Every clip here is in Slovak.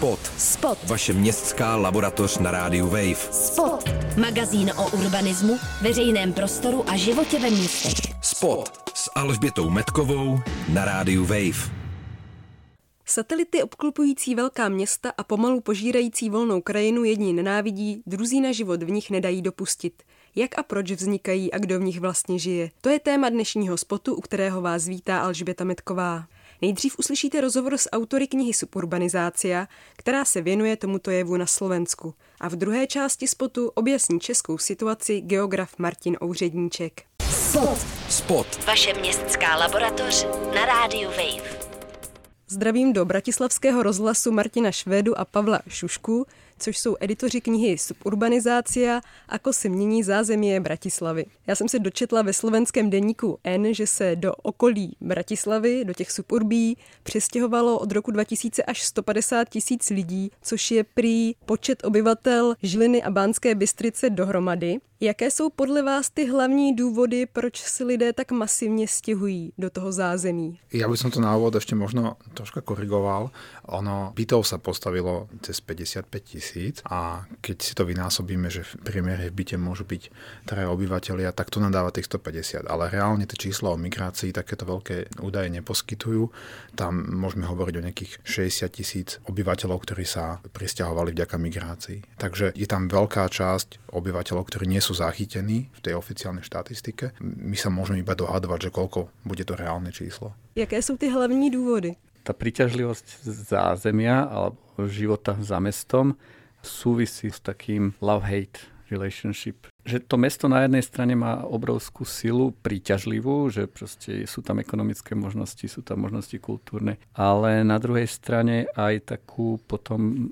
Spot. Vaše městská laboratoř na rádiu Wave. Spot. Magazín o urbanismu, veřejném prostoru a životě ve městech. Spot s Alžbětou Metkovou na rádiu Wave. Satelity obklopující velká města a pomalu požírající volnou krajinu jedni nenávidí, druzí na život v nich nedají dopustit. Jak a proč vznikají a kdo v nich vlastně žije? To je téma dnešního spotu, u kterého vás vítá Alžběta Metková. Nejdřív uslyšíte rozhovor s autory knihy Suburbanizácia, která se věnuje tomuto jevu na Slovensku. A v druhé části spotu objasní českou situaci geograf Martin Ouředníček. Spot. Vaše městská laboratoř na rádiu Wave. Zdravím do bratislavského rozhlasu Martina Švédu a Pavla Šušku, což jsou editoři knihy Suburbanizácia, ako se mění zázemí Bratislavy. Já jsem se dočetla ve slovenském deníku N, že se do okolí Bratislavy, do těch suburbí, přestěhovalo od roku 2000 až 150 000 lidí, což je prý počet obyvatel Žiliny a Banské Bystrice dohromady. Jaké jsou podle vás ty hlavní důvody, proč si lidé tak masivně stěhují do toho zázemí? Ja by som to na úvod ešte možno troška korigoval. Bytov sa postavilo cez 55 000 a keď si to vynásobíme, že v priemere v byte môžu byť 3 obyvatelia, tak to nadáva tých 150. Ale reálne tie čísla o migrácii takéto veľké údaje neposkytujú. Tam môžeme hovoriť o nejakých 60 000 obyvateľov, ktorí sa prisťahovali vďaka migrácii. Takže je tam veľká časť obyvateľov, ktorí nie sú zachytení v tej oficiálnej štatistike. My sa môžeme iba dohadovať, že koľko bude to reálne číslo. Jaké sú tie hlavní dôvody? Tá príťažlivosť zázemia alebo života za mestom súvisí s takým love-hate relationship. Že to mesto na jednej strane má obrovskú silu príťažlivú, že proste sú tam ekonomické možnosti, sú tam možnosti kultúrne, ale na druhej strane aj takú potom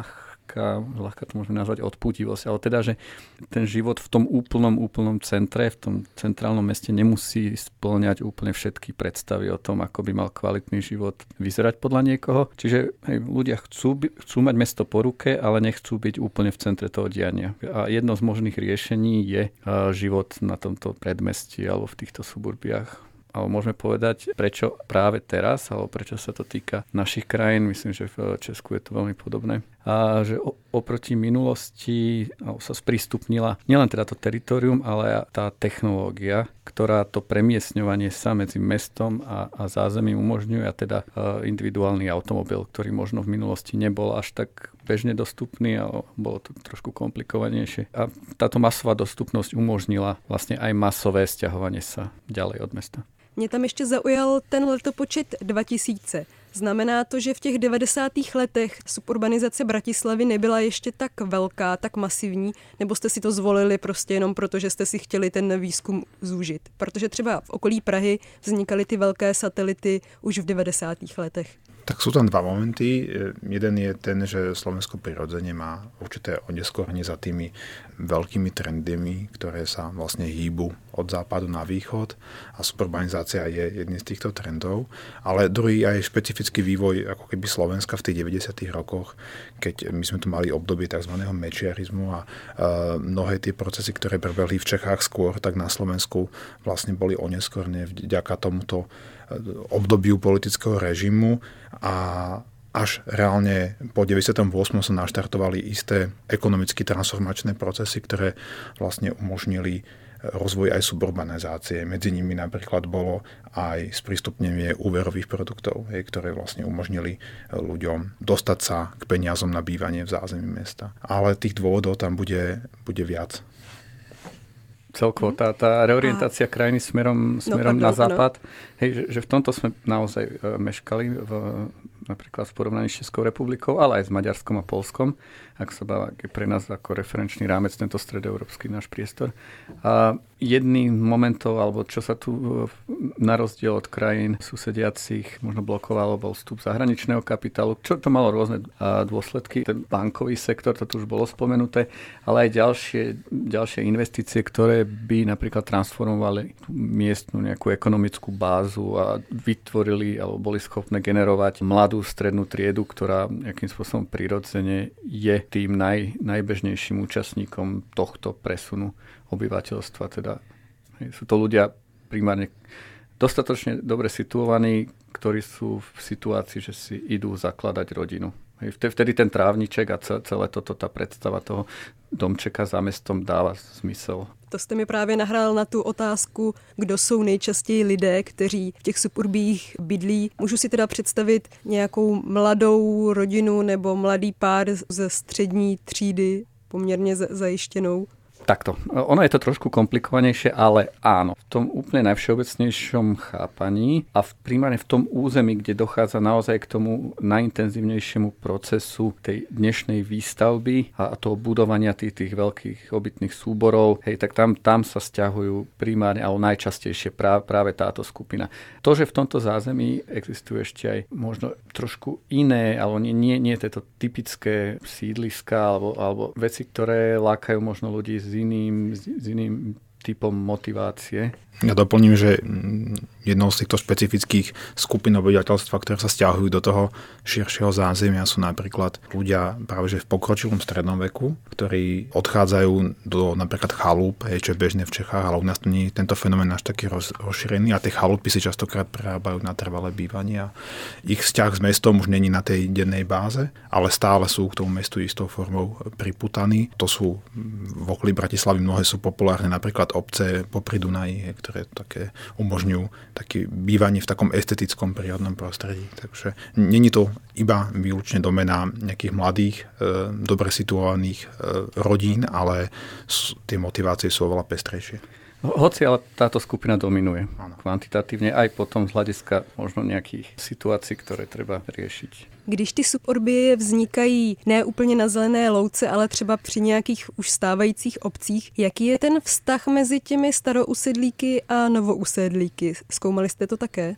ľahká to môžeme nazvať odputivosť, ale teda, že ten život v tom úplnom centre, v tom centrálnom meste nemusí spĺňať úplne všetky predstavy o tom, ako by mal kvalitný život vyzerať podľa niekoho. Čiže ľudia chcú mať mesto po ruke, ale nechcú byť úplne v centre toho diania. A jedno z možných riešení je život na tomto predmestí alebo v týchto suburbiách. Ale môžeme povedať, prečo práve teraz, alebo prečo sa to týka našich krajín. Myslím, že v Česku je to veľmi podobné. A že oproti minulosti sa sprístupnila nielen teda to teritorium, ale aj tá technológia, ktorá to premiestňovanie sa medzi mestom a zázemím umožňuje, a teda individuálny automobil, ktorý možno v minulosti nebol až tak bežne dostupný, ale bolo to trošku komplikovanejšie. A táto masová dostupnosť umožnila vlastne aj masové sťahovanie sa ďalej od mesta. Mě tam ještě zaujal ten letopočet 2000. Znamená to, že v těch 90. letech suburbanizace Bratislavy nebyla ještě tak velká, tak masivní, nebo jste si to zvolili prostě jenom proto, že jste si chtěli ten výzkum zúžit? Protože třeba v okolí Prahy vznikaly ty velké satelity už v 90. letech. Tak sú tam dva momenty. Jeden je ten, že Slovensko prirodzene má určité oneskorenie za tými veľkými trendami, ktoré sa vlastne hýbu od západu na východ a suburbanizácia je jedným z týchto trendov. Ale druhý aj špecifický vývoj ako keby Slovenska v tých 90. rokoch, keď my sme tu mali obdobie tzv. Mečiarizmu a mnohé tie procesy, ktoré prebehli v Čechách skôr, tak na Slovensku vlastne boli oneskorné vďaka tomuto obdobiu politického režimu a až reálne po 98. sa naštartovali isté ekonomicky transformačné procesy, ktoré vlastne umožnili rozvoj aj suburbanizácie. Medzi nimi napríklad bolo aj sprístupnenie úverových produktov, ktoré vlastne umožnili ľuďom dostať sa k peniazom na bývanie v zázemí mesta. Ale tých dôvodov tam bude viac. Celkovo tá reorientácia krajiny smerom na západ, že v tomto sme naozaj meškali napríklad v porovnaní s Českou republikou, ale aj s Maďarskom a Poľskom, ak sa dá pre nás ako referenčný rámec tento stredoeurópsky náš priestor. A jedným momentov, alebo čo sa tu na rozdiel od krajín susediacich možno blokovalo, bol vstup zahraničného kapitálu, čo to malo rôzne dôsledky. Ten bankový sektor, to tu už bolo spomenuté, ale aj ďalšie investície, ktoré by napríklad transformovali tú miestnu nejakú ekonomickú bázu a vytvorili alebo boli schopné generovať mladú strednú triedu, ktorá nejakým spôsobom prirodzene je tým najbežnejším účastníkom tohto presunu obyvateľstva. Teda sú to ľudia primárne dostatočne dobre situovaní, ktorí sú v situácii, že si idú zakladať rodinu. Vtedy ten trávniček a celé toto, tá predstava toho domčeka za mestom dáva zmysel. To jste mi právě nahrál na tu otázku, kdo jsou nejčastěji lidé, kteří v těch suburbích bydlí. Můžu si teda představit nějakou mladou rodinu nebo mladý pár ze střední třídy, poměrně zajištěnou? Takto. Ono je to trošku komplikovanejšie, ale áno. V tom úplne najvšeobecnejšom chápaní a primárne v tom území, kde dochádza naozaj k tomu najintenzívnejšiemu procesu tej dnešnej výstavby a toho budovania tých veľkých obytných súborov, tak tam sa sťahujú primárne, alebo najčastejšie práve táto skupina. To, že v tomto zázemí existuje ešte aj možno trošku iné, alebo nie tieto typické sídliska alebo veci, ktoré lákajú možno ľudí s iným typom motivácie. Ja doplním, že jednou z týchto špecifických skupín obyvateľstva, ktoré sa stiahujú do toho širšieho zázemia, sú napríklad ľudia práve že v pokročilom strednom veku, ktorí odchádzajú do napríklad chalúp, čo je bežné v Čechách, ale u nás nie je tento fenomén až taký rozšírený a tie chalúpy si častokrát prerábajú na trvalé bývanie a ich vzťah s mestom už není na tej dennej báze, ale stále sú k tomu mestu istou formou priputaní. To sú v okolí Bratislavy mnohé sú populárne, napríklad obce popri Dunaji, ktoré také umožňujú také bývanie v takom estetickom prírodnom prostredí. Takže není to iba výlučne domena nejakých mladých, dobre situovaných rodín, ale tie motivácie sú oveľa pestrejšie. Hoci ale táto skupina dominuje kvantitatívne aj potom z hľadiska možno nejakých situácií, ktoré treba riešiť. Když ty suburbie vznikají ne úplně na zelené louce, ale třeba při nějakých už stávajících obcích, jaký je ten vztah mezi těmi starousedlíky a novousedlíky? Zkoumali jste to také?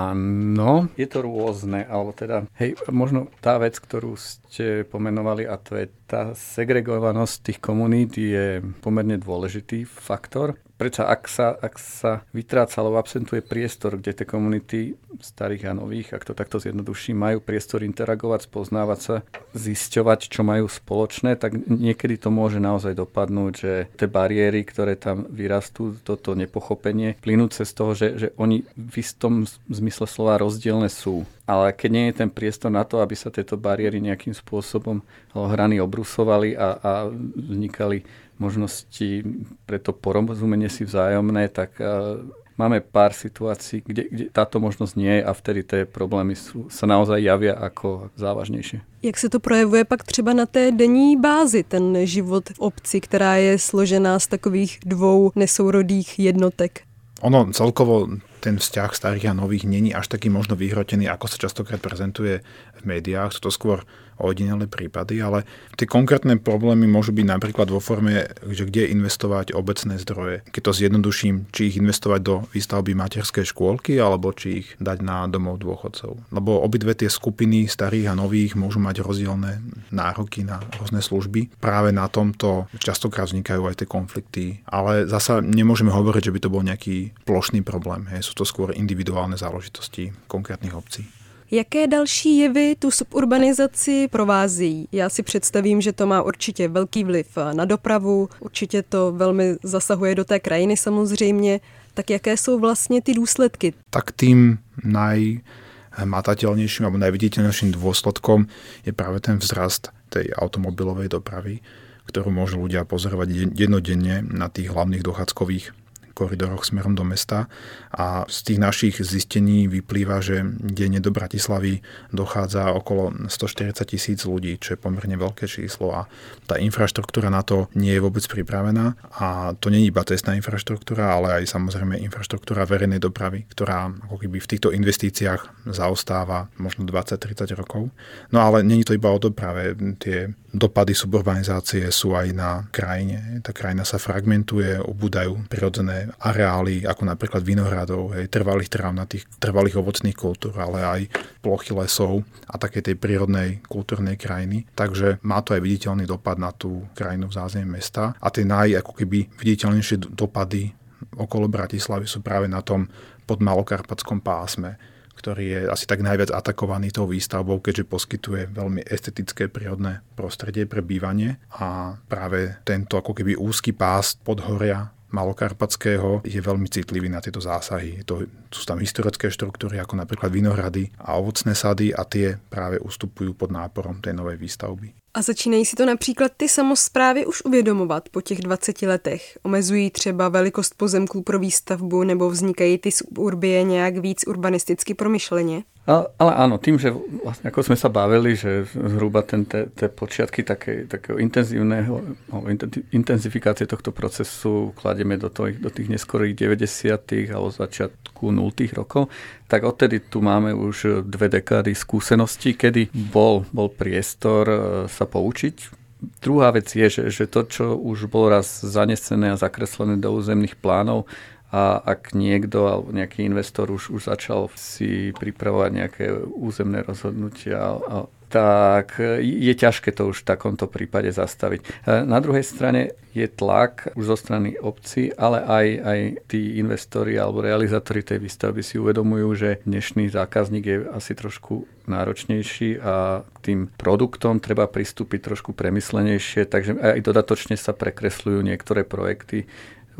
Áno, je to rôzne, alebo teda, možno tá vec, ktorú ste pomenovali, a to je tá segregovanosť tých komunít, je pomerne dôležitý faktor. Prečo ak sa vytráca alebo absentuje priestor, kde tie komunity starých a nových, ak to takto zjednoduším, majú priestor interagovať, spoznávať sa, zisťovať, čo majú spoločné, tak niekedy to môže naozaj dopadnúť, že tie bariéry, ktoré tam vyrastú, toto nepochopenie, plynúce z toho, že oni v istom zmysle slova rozdielne sú. Ale keď nie je ten priestor na to, aby sa tieto bariéry nejakým spôsobom hrany obrusovali a vznikali možnosti pre to porozumenie si vzájomné, tak máme pár situácií, kde táto možnosť nie je a vtedy tie problémy sa naozaj javia ako závažnejšie. Jak se to projevuje pak třeba na té denní bázi, ten život v obci, která je složená z takových dvou nesourodých jednotek? Ono celkovo ten vzťah starých a nových není až taký možno vyhrotený, ako sa častokrát prezentuje v médiách. Sú to skôr ojedinelé prípady, ale tie konkrétne problémy môžu byť napríklad vo forme, že kde investovať obecné zdroje. Keď to zjednoduším, či ich investovať do výstavby materskej škôlky, alebo či ich dať na domov dôchodcov. Lebo obidve tie skupiny starých a nových môžu mať rozdielne nároky na rôzne služby. Práve na tomto častokrát vznikajú aj tie konflikty, ale zasa nemôžeme hovoriť, že by to bol nejaký plošný problém. Sú to skôr individuálne záležitosti konkrétnych obcí. Jaké další jevy tu suburbanizaci provázejí? Já si představím, že to má určitě velký vliv na dopravu, určitě to velmi zasahuje do té krajiny samozřejmě. Tak jaké jsou vlastně ty důsledky? Tak tým najmatateľnejším alebo najviditeľnejším dôsledkom je práve ten vzrast tej automobilovej dopravy, ktorú môžu ľudia pozorovať jednodenne na tých hlavných dochádzkových koridoroch smerom do mesta a z tých našich zistení vyplýva, že denne do Bratislavy dochádza okolo 140 000 ľudí, čo je pomerne veľké číslo a tá infraštruktúra na to nie je vôbec pripravená a to nie je iba cestná infraštruktúra, ale aj samozrejme infraštruktúra verejnej dopravy, ktorá ako keby v týchto investíciách zaostáva možno 20-30 rokov. No ale nie je to iba o doprave, tie dopady suburbanizácie sú aj na krajine. Tá krajina sa fragmentuje, ubúdajú prirodzené areály, ako napríklad vinohradov, trvalých trávnatých, trvalých ovocných kultúr, ale aj plochy lesov a také tej prírodnej kultúrnej krajiny. Takže má to aj viditeľný dopad na tú krajinu v zázemí mesta. A tie ako keby viditeľnejšie dopady okolo Bratislavy sú práve na tom podmalokarpatskom pásme, ktorý je asi tak najviac atakovaný tou výstavbou, keďže poskytuje veľmi estetické prírodné prostredie pre bývanie a práve tento ako keby úzky pás podhoria Malokarpatského je veľmi citlivý na tieto zásahy. Sú tam historické štruktúry, ako napríklad vinohrady a ovocné sady a tie práve ustupujú pod náporom tej novej výstavby. A začínají si to například ty samosprávy už uvědomovat po těch 20 letech? Omezují třeba velikost pozemků pro výstavbu nebo vznikají ty suburbie nějak víc urbanisticky promyšleně? Ale áno, tým, že vlastne ako sme sa bavili, že zhruba tie počiatky takého intenzifikácie tohto procesu kladieme do tých neskorých 90. alebo začiatku 0. rokov, tak odtedy tu máme už 2 dekády skúseností, kedy bol priestor sa poučiť. Druhá vec je, že to, čo už bolo raz zanesené a zakreslené do územných plánov, a ak niekto alebo nejaký investor už začal si pripravovať nejaké územné rozhodnutia, tak je ťažké to už v takomto prípade zastaviť. Na druhej strane je tlak už zo strany obcí, ale aj tí investori alebo realizátori tej výstavby si uvedomujú, že dnešný zákazník je asi trošku náročnejší a k tým produktom treba pristúpiť trošku premyslenejšie, takže aj dodatočne sa prekresľujú niektoré projekty.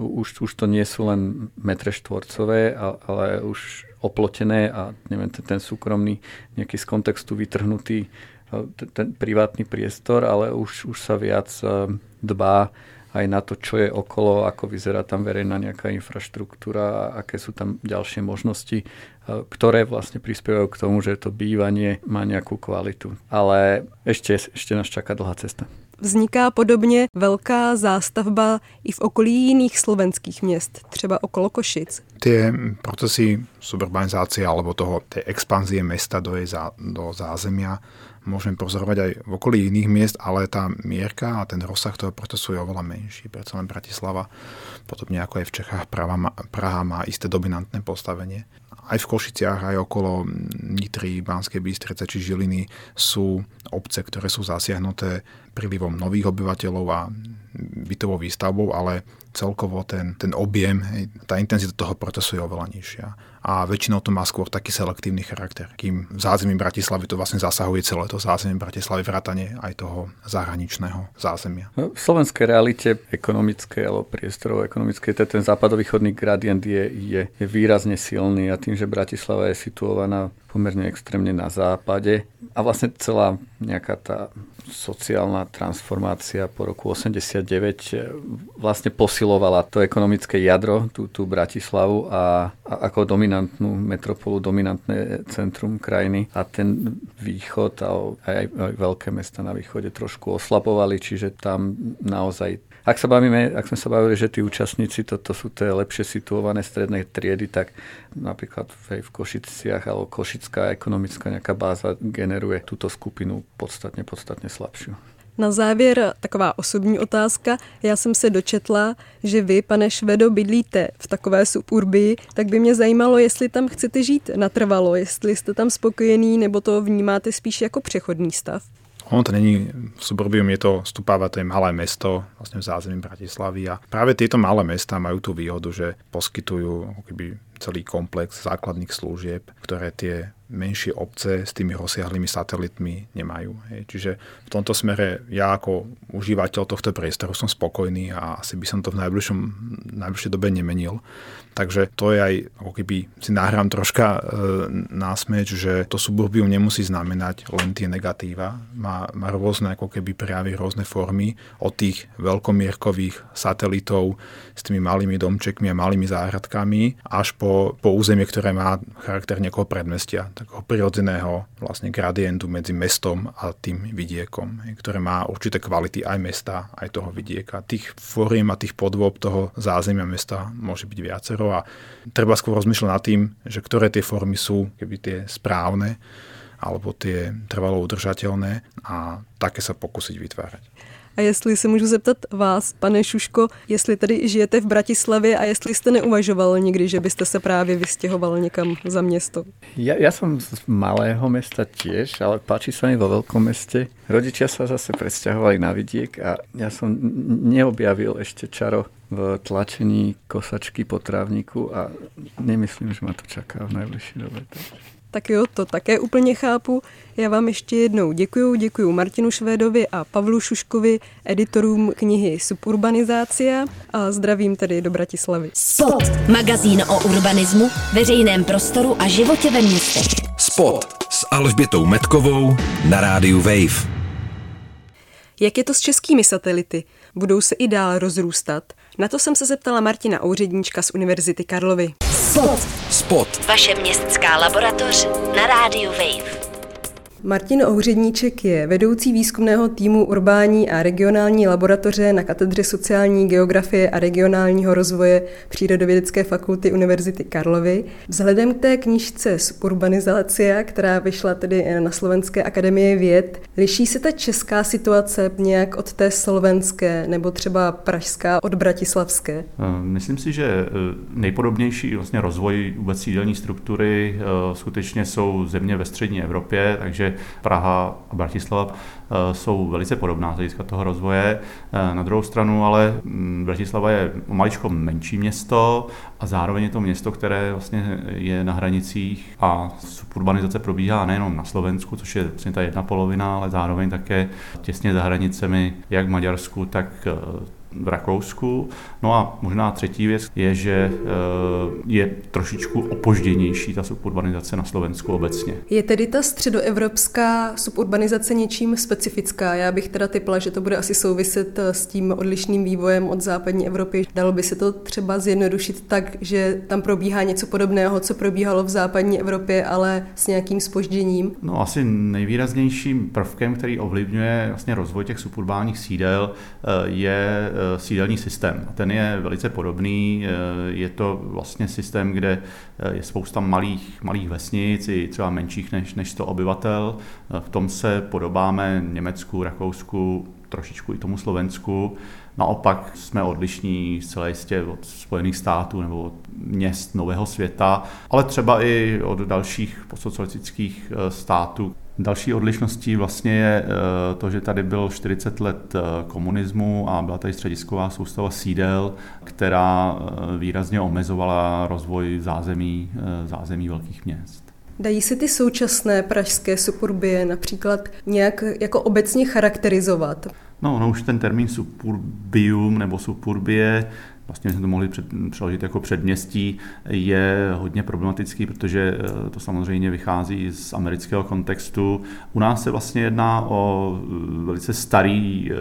Už to nie sú len metre štvorcové, ale už oplotené a neviem, ten súkromný nejaký z kontextu vytrhnutý ten privátny priestor, ale už sa viac dbá aj na to, čo je okolo, ako vyzerá tam verejná nejaká infraštruktúra a aké sú tam ďalšie možnosti, ktoré vlastne prispievajú k tomu, že to bývanie má nejakú kvalitu. Ale ešte nás čaká dlhá cesta. Vzniká podobně velká zástavba i v okolí jiných slovenských měst, třeba okolo Košic. Tie procesy suburbanizácie alebo tej expanzie mesta do zázemia môžeme pozorovať aj v okolí iných miest, ale tá mierka a ten rozsah toho procesu je oveľa menší. Preto len Bratislava, podobne ako aj v Čechách, Praha má isté dominantné postavenie. Aj v Košiciach, aj okolo Nitry, Banskej Bystrice či Žiliny sú obce, ktoré sú zasiahnuté prílivom nových obyvateľov a bytovou výstavbou, ale celkovo ten objem, tá intenzita toho procesu je oveľa nižšia. A väčšinou to má skôr taký selektívny charakter. Kým v zázemí Bratislavy to vlastne zasahuje celé to zázemie Bratislavy vrátane aj toho zahraničného zázemia. V slovenskej realite ekonomickej alebo priestorov ekonomickej, ten západovýchodný gradient je výrazne silný a tým, že Bratislava je situovaná pomerne extrémne na západe a vlastne celá nejaká tá sociálna transformácia po roku 89 vlastne posilovala to ekonomické jadro, tú Bratislavu a ako dominantnú metropolu, dominantné centrum krajiny a ten východ a aj veľké mesta na východe trošku oslabovali, čiže tam naozaj ak sme sa bavili, že tí účastníci, toto sú tie lepšie situované stredné triedy, tak napríklad v Košiciach alebo košická ekonomická nejaká báza generuje túto skupinu podstatne slabšiu. Na závěr taková osobní otázka. Já jsem se dočetla, že vy, pane Švedo, bydlíte v takové suburbii, tak by mě zajímalo, jestli tam chcete žít natrvalo, jestli jste tam spokojený, nebo to vnímáte spíš jako přechodný stav. Ono to není suburbium, je to Stupava, to je malé mesto vlastne v zázemí Bratislavy a práve tieto malé mestá majú tú výhodu, že poskytujú celý komplex základných služieb, ktoré tie menšie obce s tými rozsiahlými satelitmi nemajú. Čiže v tomto smere ja ako užívateľ tohto priestoru som spokojný a asi by som to v najbližšej dobe nemenil. Takže to je aj, ako keby si nahrám troška násmeč, že to suburbium nemusí znamenať len tie negatíva. Má rôzne ako keby prejavy, rôzne formy od tých veľkomierkových satelitov s tými malými domčekmi a malými záhradkami až po územie, ktoré má charakter nejakého predmestia, takého prirodzeného vlastne gradientu medzi mestom a tým vidiekom, ktoré má určité kvality aj mesta, aj toho vidieka. Tých foriem a tých podôb toho zázemia mesta môže byť viacero a treba skôr rozmýšľať nad tým, že ktoré tie formy sú keby tie správne alebo tie trvalo udržateľné a také sa pokúsiť vytvárať. A jestli se můžu zeptat vás, pane Šuško, jestli tady žijete v Bratislavě a jestli jste neuvažoval někdy, že byste se právě vystěhoval někam za město? Ja som z malého mesta tiež, ale páči sa mi vo veľkom meste. Rodičia sa zase presťahovali na vidiek a ja som neobjavil ešte čaro v tlačení kosačky po trávniku a nemyslím, že ma to čaká v najbližšej dobe. Tak jo, to také úplně chápu. Já vám ještě jednou děkuju Martinu Švédovi a Pavlu Šuškovi, editorům knihy Suburbanizácia, a zdravím tedy do Bratislavy. Spot, magazín o urbanismu, veřejném prostoru a životě ve městech. Spot s Alžbětou Metkovou na rádiu Wave. Jak je to s českými satelity? Budou se i dál rozrůstat? Na to jsem se zeptala Martina Ouředníčka z Univerzity Karlovy. Spot. Vaše městská laboratoř na rádiu Wave. Martin Ouředníček je vedoucí výzkumného týmu urbání a regionální laboratoře na katedře sociální geografie a regionálního rozvoje Přírodovědecké fakulty Univerzity Karlovy. Vzhledem k té knížce Suburbanizácia, která vyšla tedy na Slovenské akademii věd, liší se ta česká situace nějak od té slovenské nebo třeba pražská od bratislavské? Myslím si, že nejpodobnější vlastně rozvoj vůbec sídelní struktury skutečně jsou země ve střední Evropě, takže Praha a Bratislava jsou velice podobná z hlediska toho rozvoje. Na druhou stranu ale Bratislava je maličko menší město a zároveň je to město, které vlastně je na hranicích a suburbanizace probíhá nejenom na Slovensku, což je vlastně ta jedna polovina, ale zároveň také těsně za hranicemi jak v Maďarsku, tak v Rakousku. No a možná třetí věc je, že je trošičku opožděnější ta suburbanizace na Slovensku obecně. Je tedy ta středoevropská suburbanizace něčím specifická? Já bych teda tipla, že to bude asi souviset s tím odlišným vývojem od západní Evropy. Dalo by se to třeba zjednodušit tak, že tam probíhá něco podobného, co probíhalo v západní Evropě, ale s nějakým zpožděním? No asi nejvýraznějším prvkem, který ovlivňuje vlastně rozvoj těch suburbánních sídel, je sídelní systém. A ten je velice podobný. Je to vlastně systém, kde je spousta malých vesnic, i třeba menších než 100 obyvatel. V tom se podobáme Německu, Rakousku, trošičku i tomu Slovensku. Naopak jsme odlišní zcela jistě od Spojených států nebo od měst nového světa, ale třeba i od dalších postsocialistických států. Další odlišností vlastně je to, že tady bylo 40 let komunismu a byla tady středisková soustava sídel, která výrazně omezovala rozvoj zázemí velkých měst. Dají se ty současné pražské suburbie například nějak jako obecně charakterizovat? No už ten termín suburbium nebo suburbie, vlastně jsme to mohli přeložit jako předměstí, je hodně problematický, protože to samozřejmě vychází z amerického kontextu. U nás se vlastně jedná o velice starý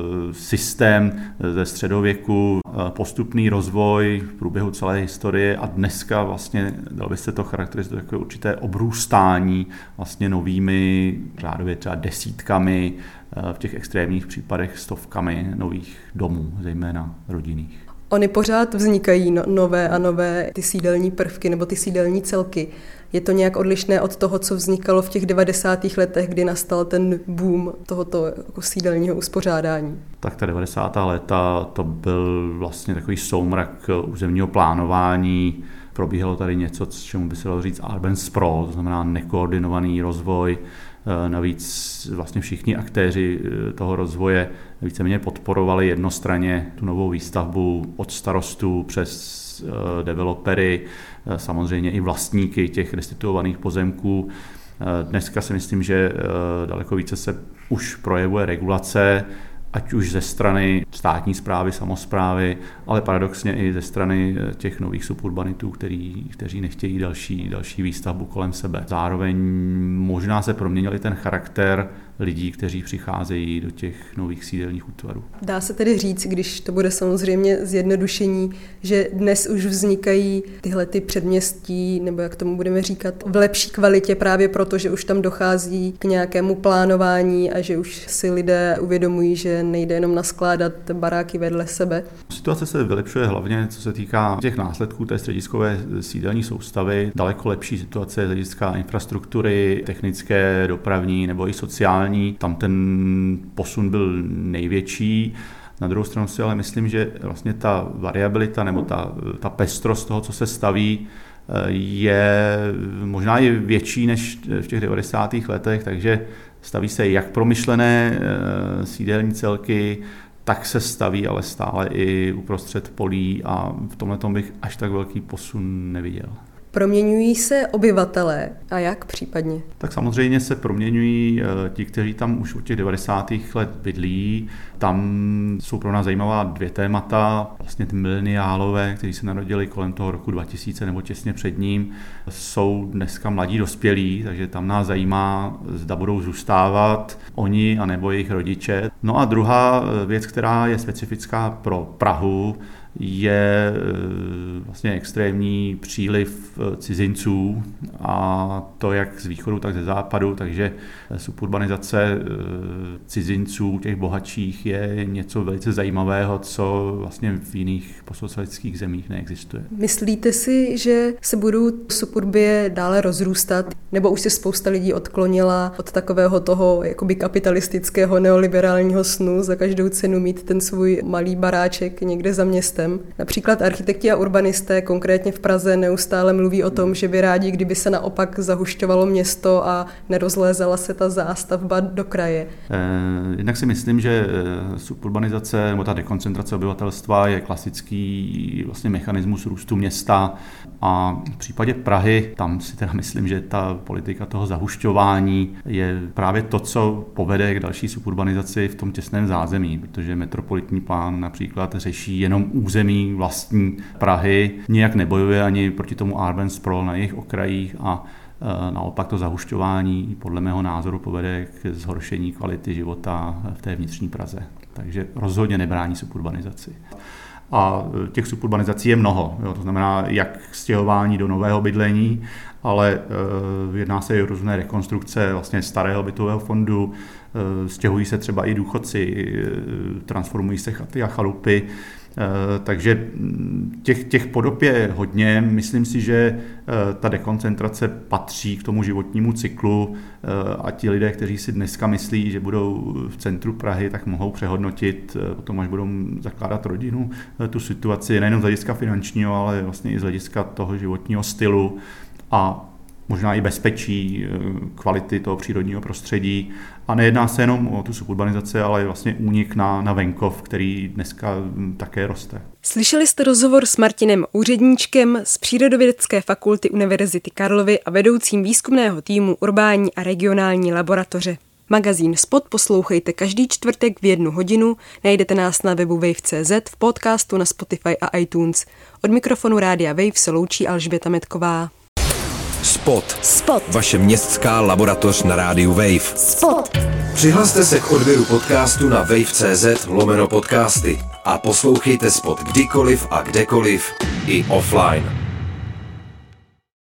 systém ze středověku, postupný rozvoj v průběhu celé historie a dneska vlastně, dalo by se to charakterizovat jako určité obrůstání vlastně novými, řádově třeba desítkami, v těch extrémních případech stovkami nových domů, zejména rodinných. Ony pořád vznikají nové a nové ty sídelní prvky nebo ty sídelní celky. Je to nějak odlišné od toho, co vznikalo v těch 90. letech, kdy nastal ten boom tohoto jako sídelního uspořádání? Tak ta 90. léta to byl vlastně takový soumrak územního plánování. Probíhalo tady něco, čemu by se dalo říct urban sprawl, to znamená nekoordinovaný rozvoj. Navíc vlastně všichni aktéři toho rozvoje víceméně podporovali jednostranně tu novou výstavbu od starostů přes developery, samozřejmě i vlastníky těch restituovaných pozemků. Dneska si myslím, že daleko více se už projevuje regulace, ať už ze strany státní správy, samosprávy, ale paradoxně i ze strany těch nových suburbanitů, kteří nechtějí další výstavbu kolem sebe. Zároveň možná se proměnil i ten charakter lidí, kteří přicházejí do těch nových sídelních útvarů. Dá se tedy říct, když to bude samozřejmě zjednodušení, že dnes už vznikají tyhle ty předměstí, nebo jak tomu budeme říkat, v lepší kvalitě právě proto, že už tam dochází k nějakému plánování a že už si lidé uvědomují, že nejde jenom naskládat baráky vedle sebe. Situace se vylepšuje hlavně, co se týká těch následků té střediskové sídelní soustavy. Daleko lepší situace z hlediska infrastruktury, technické, dopravní nebo i sociální. Tam ten posun byl největší. Na druhou stranu si ale myslím, že vlastně ta variabilita nebo ta pestrost toho, co se staví, je možná i větší než v těch 90. letech, takže staví se jak promyšlené sídelní celky, tak se staví ale stále i uprostřed polí a v tomhletom bych až tak velký posun neviděl. Proměňují se obyvatelé a jak případně? Tak samozřejmě se proměňují ti, kteří tam už od těch 90. let bydlí. Tam jsou pro nás zajímavá 2 témata. Vlastně ty mileniálové, kteří se narodili kolem toho roku 2000 nebo těsně před ním, jsou dneska mladí dospělí, takže tam nás zajímá, zda budou zůstávat oni anebo jejich rodiče. No a druhá věc, která je specifická pro Prahu, je vlastně extrémní příliv cizinců, a to jak z východu, tak ze západu, takže suburbanizace cizinců, těch bohatších, je něco velice zajímavého, co vlastně v jiných postsocialistických zemích neexistuje. Myslíte si, že se budou suburbie dále rozrůstat, nebo už se spousta lidí odklonila od takového toho jakoby kapitalistického neoliberálního snu za každou cenu mít ten svůj malý baráček někde za městem? Například architekti a urbanisté konkrétně v Praze neustále mluví o tom, že by rádi, kdyby se naopak zahušťovalo město a nerozlézala se ta zástavba do kraje. Jednak si myslím, že suburbanizace nebo ta dekoncentrace obyvatelstva je klasický vlastně mechanismus růstu města, a v případě Prahy tam si teda myslím, že ta politika toho zahušťování je právě to, co povede k další suburbanizaci v tom těsném zázemí, protože metropolitní plán například řeší jenom území vlastní Prahy, nijak nebojuje ani proti tomu urban sprawl na jejich okrajích, a naopak to zahušťování podle mého názoru povede k zhoršení kvality života v té vnitřní Praze. Takže rozhodně nebrání suburbanizaci. A těch suburbanizací je mnoho, jo, to znamená jak stěhování do nového bydlení, ale jedná se i o různé rekonstrukce vlastně starého bytového fondu, stěhují se třeba i důchodci, transformují se chaty a chalupy, takže těch podob je hodně. Myslím si, že ta dekoncentrace patří k tomu životnímu cyklu, a ti lidé, kteří si dneska myslí, že budou v centru Prahy, tak mohou přehodnotit potom, až budou zakládat rodinu, tu situaci nejen z hlediska finančního, ale vlastně i z hlediska toho životního stylu a možná i bezpečí, kvality toho přírodního prostředí. A nejedná se jenom o tu suburbanizaci, ale vlastně únik na venkov, který dneska také roste. Slyšeli jste rozhovor s Martinem Úředníčkem z Přírodovědecké fakulty Univerzity Karlovy a vedoucím výzkumného týmu Urbání a regionální laboratoře. Magazín Spot poslouchejte každý čtvrtek v 1 hodinu, najdete nás na webu wave.cz, v podcastu na Spotify a iTunes. Od mikrofonu Rádia Wave se loučí Alžběta Metková. Spot. Vaše městská laboratoř na rádiu Wave. Spot. Přihlaste se k odběru podcastu na wave.cz/podcasty a poslouchejte Spot kdykoliv a kdekoliv i offline.